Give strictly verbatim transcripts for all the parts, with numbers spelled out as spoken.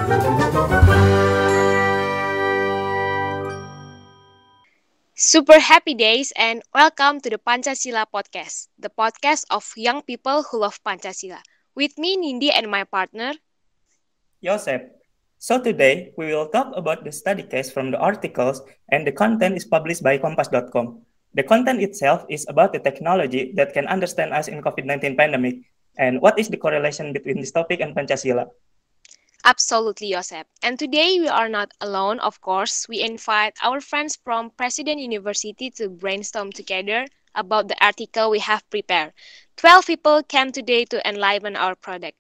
Super happy days and welcome to the Pancasila Podcast, the podcast of young people who love Pancasila. With me, Nindi, and my partner. Joseph. So today we will talk about the study case from the articles, and the content is published by kompas dot com. The content itself is about the technology that can understand us in COVID nineteen pandemic, and what is the correlation between this topic and Pancasila. Absolutely, Josep. And today we are not alone, of course. We invite our friends from President University to brainstorm together about the article we have prepared. twelve people came today to enliven our product.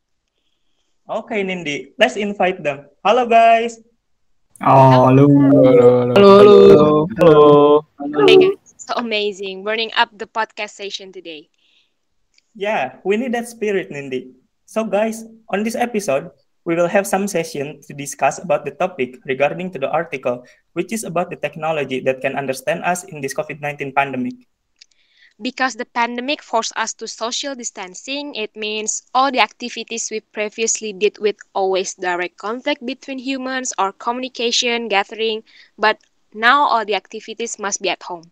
Okay, Nindi, let's invite them. Hello, guys. Oh, halo. Halo, halo. Halo, halo. Halo. Hi, guys. So amazing, burning up the podcast session today. Yeah, we need that spirit, Nindi. So, guys, on this episode, we will have some session to discuss about the topic regarding to the article, which is about the technology that can understand us in this COVID nineteen pandemic. Because the pandemic forced us to social distancing, it means all the activities we previously did with always direct contact between humans or communication, gathering, but now all the activities must be at home.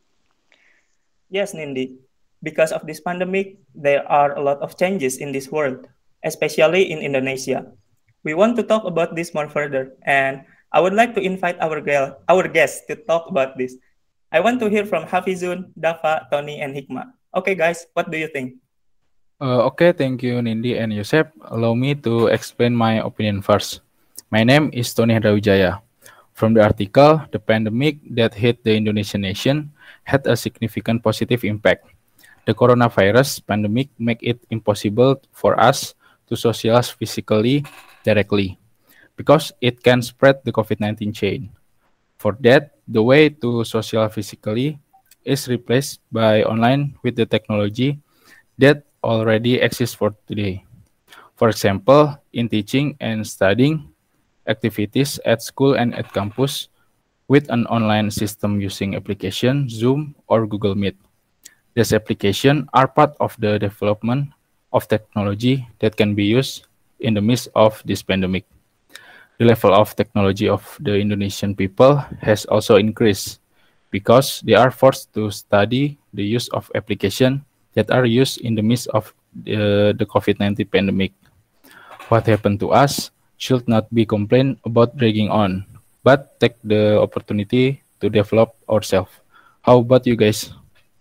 Yes, Nindi. Because of this pandemic, there are a lot of changes in this world, especially in Indonesia. We want to talk about this more further, and I would like to invite our gal- our guests to talk about this. I want to hear from Hafizun, Dafa, Tony, and Hikmah. Okay, guys, what do you think? Uh, okay, thank you, Nindi and Yosep. Allow me to explain my opinion first. My name is Tony Hendrawijaya. From the article, the pandemic that hit the Indonesian nation had a significant positive impact. The coronavirus pandemic made it impossible for us to socialize physically directly because it can spread the COVID nineteen chain. For that, the way to social physically is replaced by online with the technology that already exists for today. For example, in teaching and studying activities at school and at campus with an online system using application Zoom or Google Meet. These applications are part of the development of technology that can be used in the midst of this pandemic. The level of technology of the Indonesian people has also increased because they are forced to study the use of applications that are used in the midst of the, the COVID nineteen pandemic. What happened to us should not be complained about dragging on, but take the opportunity to develop ourselves. How about you guys?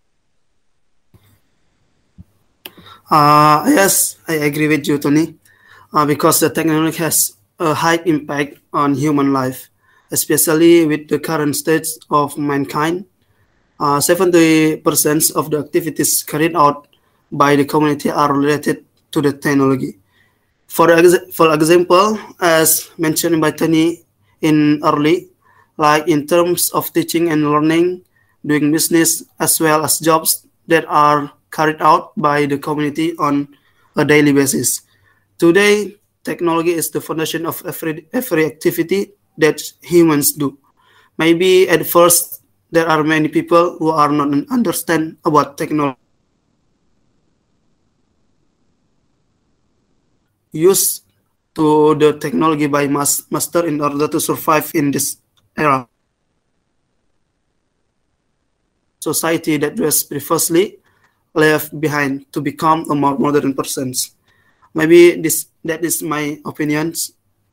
Uh, yes, I agree with you, Tony. Uh, because the technology has a high impact on human life, especially with the current state of mankind. Uh, seventy percent of the activities carried out by the community are related to the technology. For, ex- for example, as mentioned by Tony in early, like in terms of teaching and learning, doing business, as well as jobs that are carried out by the community on a daily basis. Today, technology is the foundation of every, every activity that humans do. Maybe at first, there are many people who are not understand about technology. Use to the technology by mas- master in order to survive in this era. Society that was previously left behind to become a more modern person. Maybe this that is my opinions.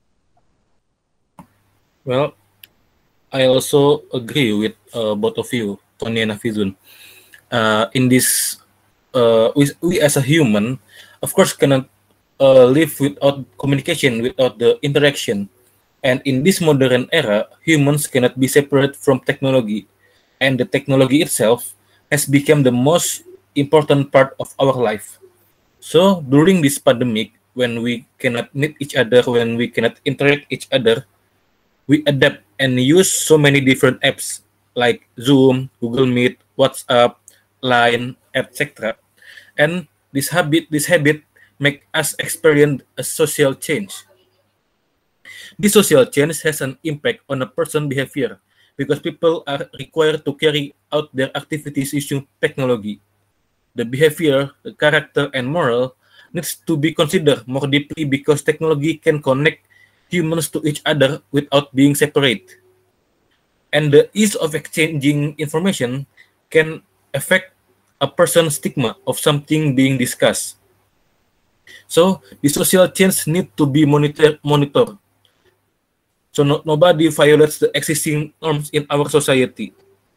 Well, I also agree with uh, both of you, Tony and Hafizun. Uh, in this, uh, we, we as a human, of course, cannot uh, live without communication, without the interaction. And in this modern era, humans cannot be separate from technology. And the technology itself has become the most important part of our life. So during this pandemic, when we cannot meet each other, when we cannot interact each other, we adapt and use so many different apps like Zoom, Google Meet, WhatsApp, Line, et cetera. And this habit, this habit, make us experience a social change. This social change has an impact on a person's behavior because people are required to carry out their activities using technology. The behavior, the character, and moral needs to be considered more deeply because technology can connect humans to each other without being separate. And the ease of exchanging information can affect a person's stigma of something being discussed. So the social change need to be monitor monitored. So no, nobody violates the existing norms in our society.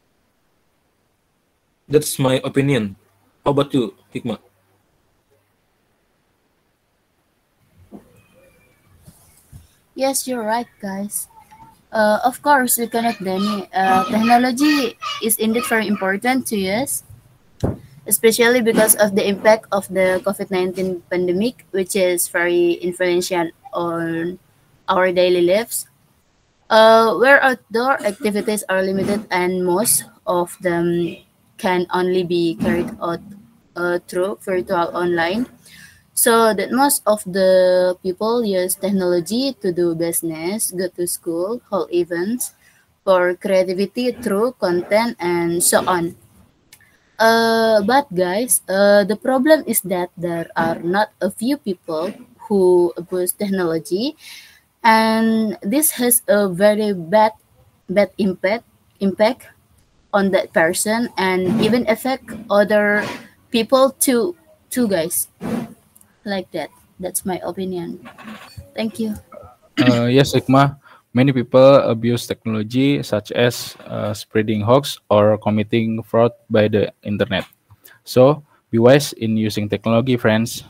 That's my opinion. How about you, Hikmah? Yes, you're right, guys. Uh, of course, we cannot deny uh, technology is indeed very important to us, especially because of the impact of the COVID nineteen pandemic, which is very influential on our daily lives. Uh, where outdoor activities are limited and most of them can only be carried out uh, through virtual online. So that most of the people use technology to do business, go to school, hold events, for creativity through content and so on. Uh, but guys, uh, the problem is that there are not a few people who abuse technology, and this has a very bad bad impact impact on that person and even affect other people too too guys, like that. That's my opinion. Thank you. Uh, yes, Hikmah. Many people abuse technology, such as uh, spreading hoax or committing fraud by the internet. So, be wise in using technology, friends.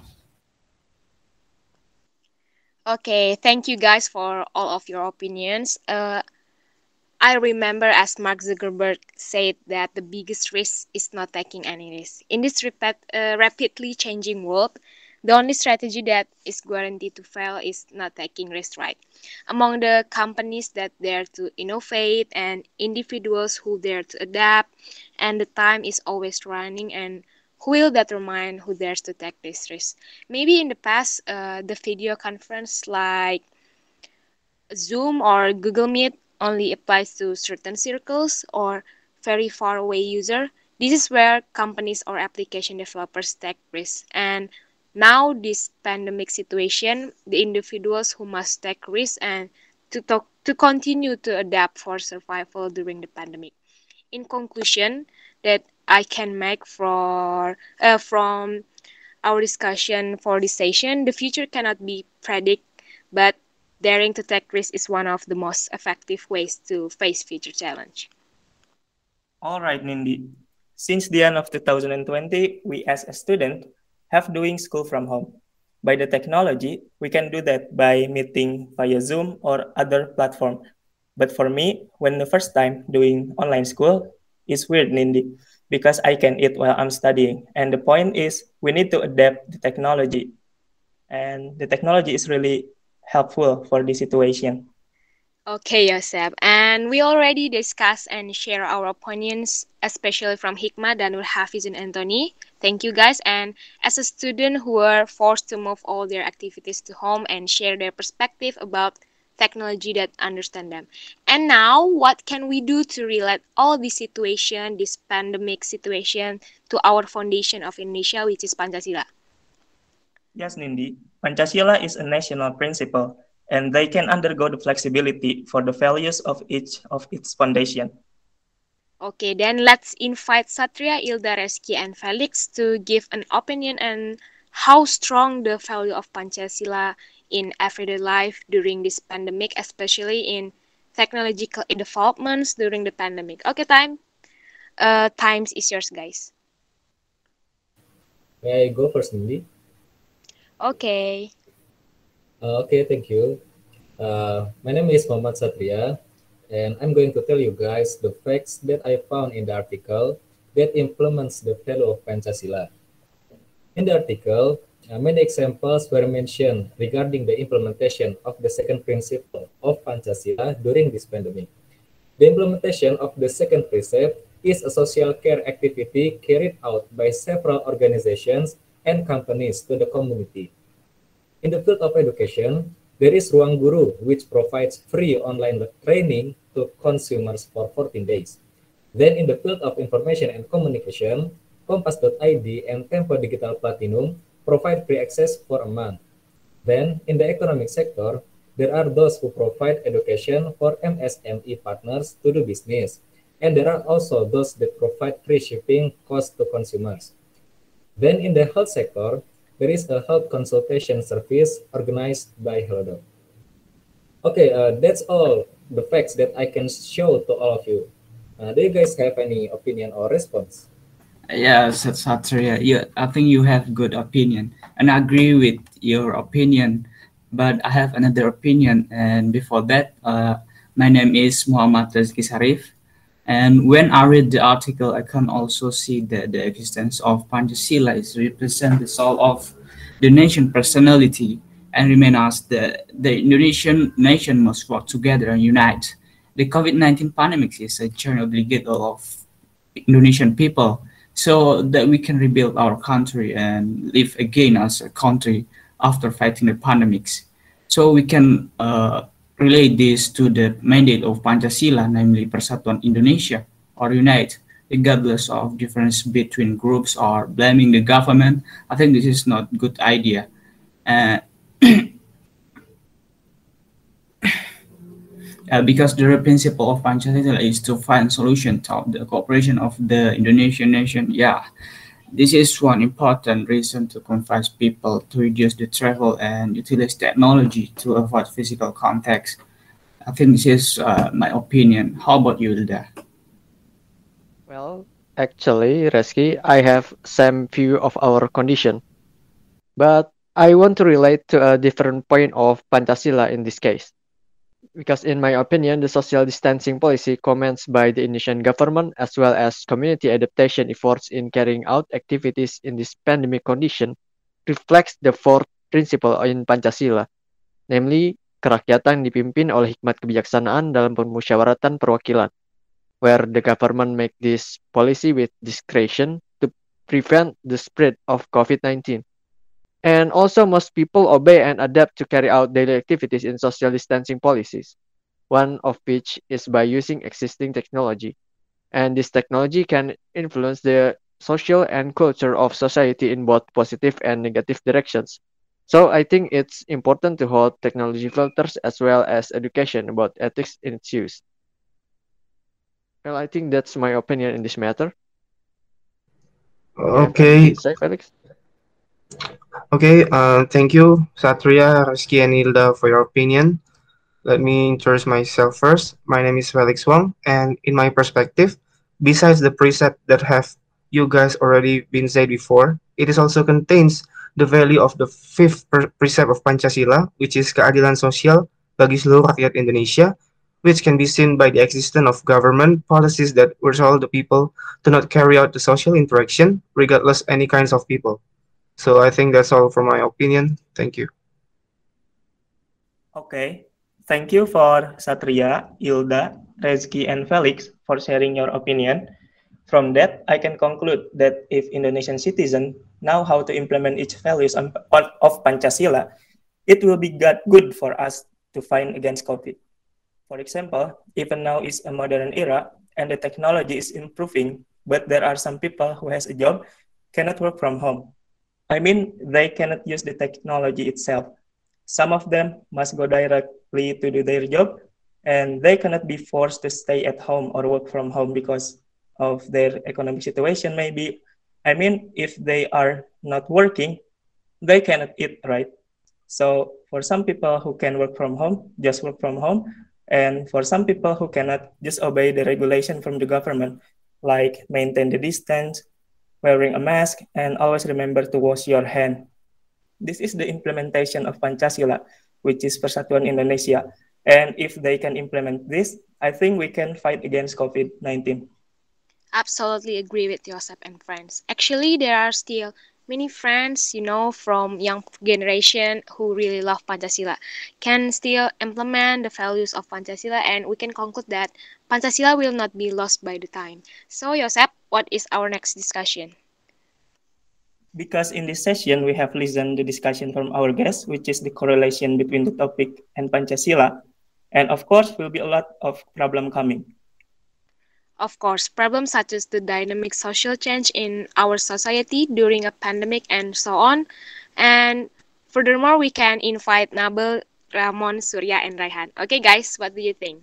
Okay, thank you guys for all of your opinions. Uh, I remember as Mark Zuckerberg said that the biggest risk is not taking any risk. In this rapid, uh, rapidly changing world, the only strategy that is guaranteed to fail is not taking risk, right? Among the companies that dare to innovate and individuals who dare to adapt, and the time is always running, and who will determine who dares to take this risk? Maybe in the past, uh, the video conference like Zoom or Google Meet only applies to certain circles or very far away user. This is where companies or application developers take risks. And now this pandemic situation, the individuals who must take risks and to talk, to continue to adapt for survival during the pandemic. In conclusion, that I can make for uh, from our discussion for this session, the future cannot be predicted, but daring to take risks is one of the most effective ways to face future challenge. All right, Nindi. Since the end of two thousand twenty, we as a student have doing school from home. By the technology, we can do that by meeting via Zoom or other platform. But for me, when the first time doing online school, it's weird, Nindi, because I can eat while I'm studying. And the point is, we need to adapt the technology. And the technology is really helpful for this situation. Okay, Yosef. And we already discussed and share our opinions, especially from Hikmah, Danur, Hafiz, and Anthony. Thank you guys. And as a student who were forced to move all their activities to home and share their perspective about technology that understand them. And now, what can we do to relate all this situation, this pandemic situation, to our foundation of Indonesia, which is Pancasila? Yes, Nindi. Pancasila is a national principle, and they can undergo the flexibility for the values of each of its foundation. Okay, then let's invite Satria, Ilda, Reski, and Felix to give an opinion on how strong the value of Pancasila in everyday life during this pandemic, especially in technological developments during the pandemic. Okay, time. Uh, times is yours, guys. May I go first, Nindi? Okay. Uh, okay, thank you. Uh, my name is Muhammad Satria, and I'm going to tell you guys the facts that I found in the article that implements the value of Pancasila. In the article, uh, many examples were mentioned regarding the implementation of the second principle of Pancasila during this pandemic. The implementation of the second precept is a social care activity carried out by several organizations and companies to the community. In the field of education, there is Ruang Guru, which provides free online training to consumers for fourteen days. Then in the field of information and communication, Kompas dot I D and Tempo Digital Platinum provide free access for a month. Then in the economic sector, There are those who provide education for M S M E partners to do business, and there are also those that provide free shipping costs to consumers. Then in the health sector, there is a health consultation service organized by Halodoc. Okay, uh, that's all the facts that I can show to all of you. Uh, do you guys have any opinion or response? Yes, Satria. You, I think you have good opinion, and I agree with your opinion. But I have another opinion, and before that, uh, my name is Muhammad Rizky Sarif. And when I read the article, I can also see that the existence of Pancasila is represent the soul of the nation personality and remain as the, the Indonesian nation must work together and unite. The COVID nineteen pandemic is a journey obligatory of Indonesian people so that we can rebuild our country and live again as a country after fighting the pandemics. So we can uh, relate this to the mandate of Pancasila, namely Persatuan Indonesia, or unite, regardless of difference between groups or blaming the government. I think this is not a good idea. Uh, uh, because the real principle of Pancasila is to find solution to the cooperation of the Indonesian nation. Yeah, this is one important reason to convince people to reduce the travel and utilize technology to avoid physical contact. I think this is uh, my opinion. How about you, Hilda? Well, actually, Reski, I have same view of our condition, but I want to relate to a different point of Pancasila in this case. Because in my opinion, the social distancing policy comments by the Indonesian government as well as community adaptation efforts in carrying out activities in this pandemic condition reflects the fourth principle in Pancasila, namely kerakyatan dipimpin oleh hikmat kebijaksanaan dalam permusyawaratan perwakilan, where the government make this policy with discretion to prevent the spread of COVID nineteen. And also most people obey and adapt to carry out daily activities in social distancing policies, one of which is by using existing technology. And this technology can influence the social and culture of society in both positive and negative directions. So I think it's important to hold technology filters as well as education about ethics in its use. Well, I think that's my opinion in this matter. Okay. Say, Felix? Okay, uh, thank you, Satria, Reski, and Hilda for your opinion. Let me introduce myself first. My name is Felix Wong, and in my perspective, besides the precept that have you guys already been said before, it is also contains the value of the fifth precept of Pancasila, which is keadilan sosial bagi seluruh rakyat Indonesia, which can be seen by the existence of government policies that resolve the people to not carry out the social interaction, regardless any kinds of people. So I think that's all from my opinion. Thank you. Okay. Thank you for Satria, Hilda, Rezki, and Felix for sharing your opinion. From that, I can conclude that if Indonesian citizens know how to implement its values of Pancasila, it will be good for us to fight against COVID. For example, even now is a modern era and the technology is improving, but there are some people who has a job cannot work from home. I mean, they cannot use the technology itself. Some of them must go directly to do their job, and they cannot be forced to stay at home or work from home because of their economic situation, maybe. I mean, if they are not working, they cannot eat, right? So for some people who can work from home, just work from home. And for some people who cannot, just obey the regulation from the government, like maintain the distance, wearing a mask, and always remember to wash your hand. This is the implementation of Pancasila, which is Persatuan Indonesia. And if they can implement this, I think we can fight against COVID nineteen. Absolutely agree with Joseph and friends. Actually, there are still many friends, you know, from young generation who really love Pancasila, can still implement the values of Pancasila, and we can conclude that Pancasila will not be lost by the time. So, Joseph, what is our next discussion? Because in this session, we have listened to the discussion from our guests, which is the correlation between the topic and Pancasila. And of course, will be a lot of problem coming. Of course, problems such as the dynamic social change in our society during a pandemic and so on. And furthermore, we can invite Nabil Ramon, Surya, and Raihan. Okay, guys, what do you think?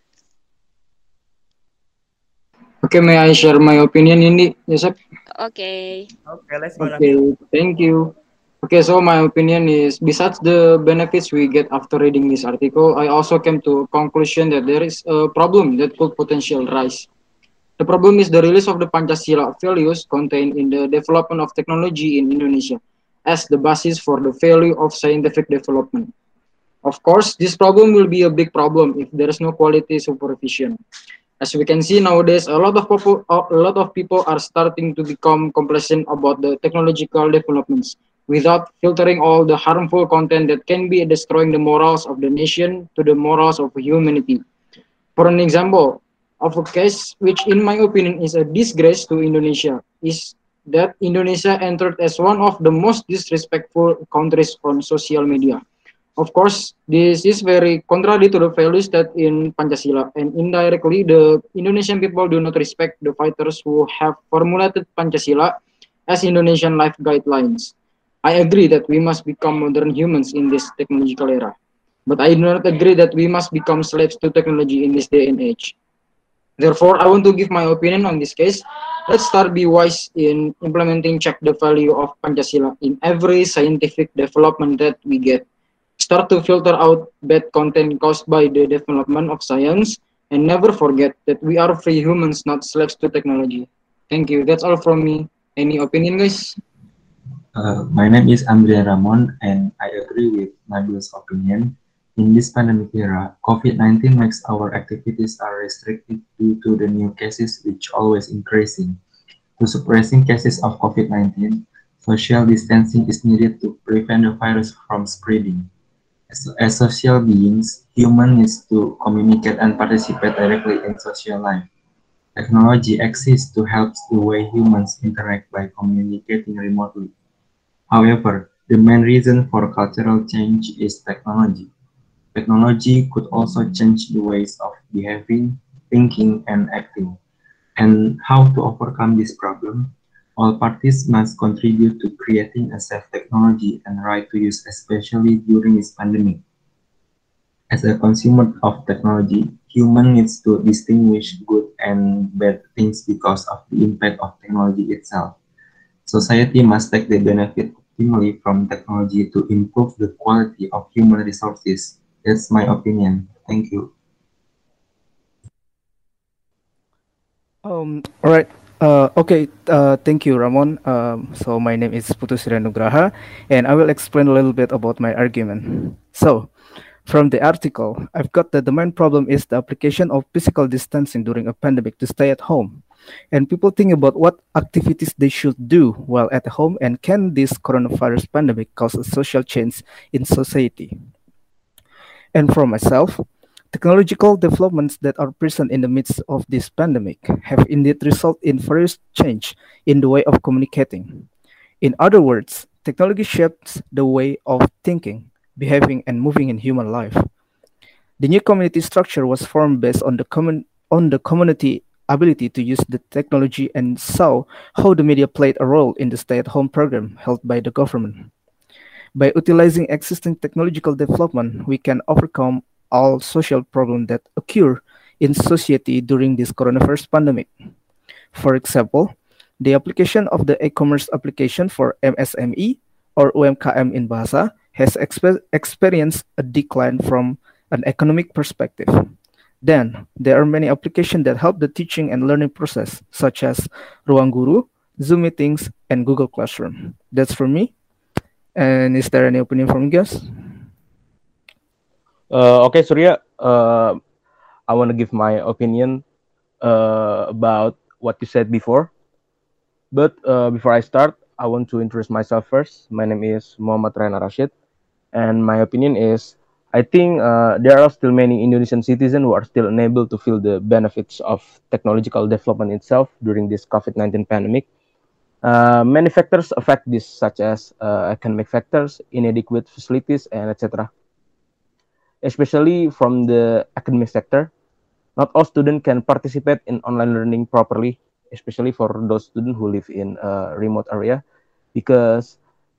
Okay, may I share my opinion, Indi? Yes, sir. Okay. Okay, let's go, Okay, Nabil. thank you. Okay, so my opinion is besides the benefits we get after reading this article, I also came to a conclusion that there is a problem that could potentially rise. The problem is the release of the Pancasila values contained in the development of technology in Indonesia as the basis for the value of scientific development. Of course, this problem will be a big problem if there is no quality supervision. As we can see nowadays, a lot of people, a lot of people are starting to become complacent about the technological developments without filtering all the harmful content that can be destroying the morals of the nation to the morals of humanity. For an example of a case which, in my opinion, is a disgrace to Indonesia, is that Indonesia entered as one of the most disrespectful countries on social media. Of course, this is very contrary to the values that in Pancasila, and indirectly, the Indonesian people do not respect the fighters who have formulated Pancasila as Indonesian life guidelines. I agree that we must become modern humans in this technological era, but I do not agree that we must become slaves to technology in this day and age. Therefore, I want to give my opinion on this case. Let's start be wise in implementing check the value of Pancasila in every scientific development that we get. Start to filter out bad content caused by the development of science, and never forget that we are free humans, not slaves to technology. Thank you. That's all from me. Any opinion, guys? Uh, my name is Andrea Ramon, and I agree with Nabil's opinion. In this pandemic era, COVID nineteen makes our activities are restricted due to the new cases which always increasing. To suppressing cases of COVID nineteen, social distancing is needed to prevent the virus from spreading. As, as social beings, human needs to communicate and participate directly in social life. Technology exists to help the way humans interact by communicating remotely. However, the main reason for cultural change is technology. Technology could also change the ways of behaving, thinking, and acting. And how to overcome this problem? All parties must contribute to creating a safe technology and right to use, especially during this pandemic. As a consumer of technology, human needs to distinguish good and bad things because of the impact of technology itself. Society must take the benefit optimally from technology to improve the quality of human resources. That's my opinion. Thank you. Um, all right. Uh, okay. Uh, thank you, Ramon. Um, so my name is Putusira Nugraha, and I will explain a little bit about my argument. So, from the article, I've got that the main problem is the application of physical distancing during a pandemic to stay at home. And people think about what activities they should do while at home, and can this coronavirus pandemic cause a social change in society? And for myself, technological developments that are present in the midst of this pandemic have indeed resulted in various change in the way of communicating. In other words, technology shapes the way of thinking, behaving, and moving in human life. The new community structure was formed based on the common on the community ability to use the technology, and saw how the media played a role in the stay-at-home program held by the government. By utilizing existing technological development, we can overcome all social problems that occur in society during this coronavirus pandemic. For example, the application of the e-commerce application for M S M E or U M K M in Bahasa has expe- experienced a decline from an economic perspective. Then, there are many applications that help the teaching and learning process, such as Ruang Guru, Zoom meetings, and Google Classroom. That's for me. And is there any opinion from you guys? Uh, okay, Surya, uh, I want to give my opinion uh, about what you said before. But uh, before I start, I want to introduce myself first. My name is Muhammad Rana Rashid, and my opinion is I think uh, there are still many Indonesian citizens who are still unable to feel the benefits of technological development itself during this COVID nineteen pandemic. Uh, many factors affect this, such as uh, economic factors, inadequate facilities, and et cetera. Especially from the academic sector, not all students can participate in online learning properly, especially for those students who live in a remote area, because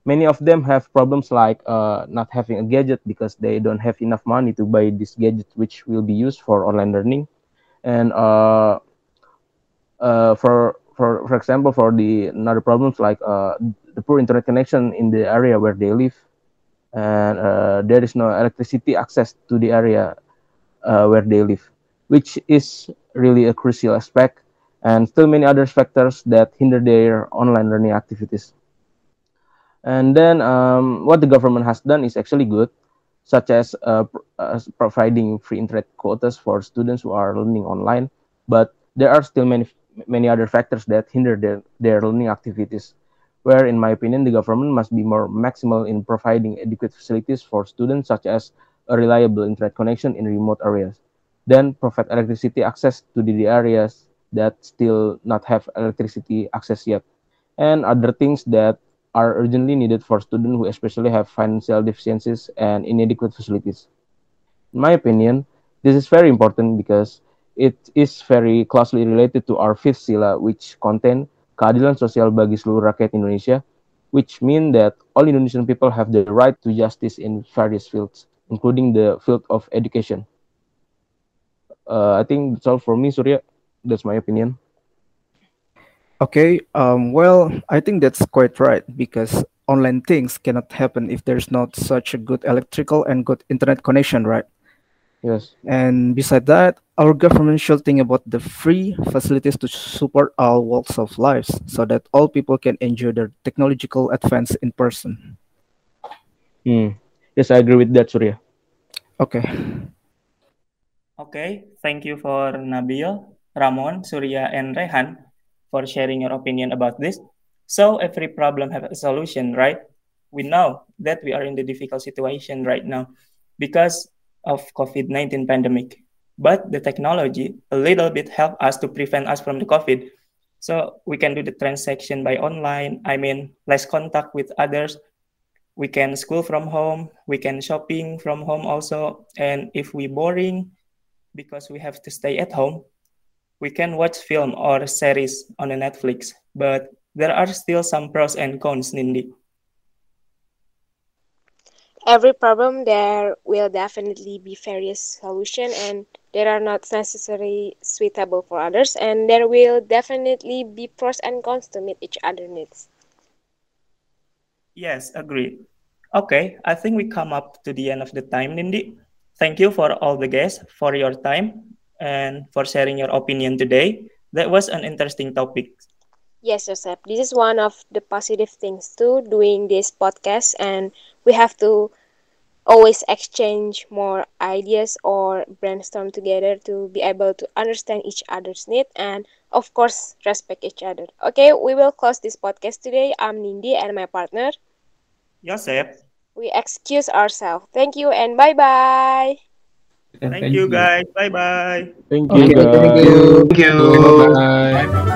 Many of them have problems like uh, not having a gadget because they don't have enough money to buy this gadget, which will be used for online learning. And uh, uh, for for for example, for the another problems like uh, the poor internet connection in the area where they live, and uh, there is no electricity access to the area uh, where they live, which is really a crucial aspect, and still many other factors that hinder their online learning activities. And then um, what the government has done is actually good, such as uh, pr- uh, providing free internet quotas for students who are learning online. But there are still many many other factors that hinder their, their learning activities, where, in my opinion, the government must be more maximal in providing adequate facilities for students, such as a reliable internet connection in remote areas. Then provide electricity access to the areas that still not have electricity access yet, and other things that are urgently needed for students who especially have financial deficiencies and inadequate facilities. In my opinion, this is very important because it is very closely related to our fifth sila, which contain keadilan sosial bagi seluruh rakyat Indonesia, which mean that all Indonesian people have the right to justice in various fields, including the field of education. Uh, I think that's all for me, Surya. That's my opinion. Okay, um, well, I think that's quite right because online things cannot happen if there's not such a good electrical and good internet connection, right? Yes. And beside that, our government should think about the free facilities to support all walks of lives so that all people can enjoy their technological advance in person. Hmm. Yes, I agree with that, Surya. Okay. Okay, thank you for Nabil, Ramon, Surya, and Rehan for sharing your opinion about this. So every problem has a solution, right? We know that we are in the difficult situation right now because of COVID nineteen pandemic. But the technology a little bit help us to prevent us from the COVID. So we can do the transaction by online. I mean, less contact with others. We can school from home. We can shopping from home also. And if we boring because we have to stay at home, we can watch film or series on the Netflix. But there are still some pros and cons, Nindi. Every problem there will definitely be various solution and they are not necessarily suitable for others and there will definitely be pros and cons to meet each other needs. Yes, agreed. Okay, I think we come up to the end of the time, Nindi. Thank you for all the guests for your time and for sharing your opinion today. That was an interesting topic. Yes, Joseph, this is one of the positive things too doing this podcast and we have to always exchange more ideas or brainstorm together to be able to understand each other's need and of course respect each other. Okay, we will close this podcast today. I'm Nindi and my partner Joseph. We excuse ourselves. Thank you and bye bye. Thank, Thank you guys. Bye bye. Thank you. Okay, Guys. Thank you. Thank you. Bye bye.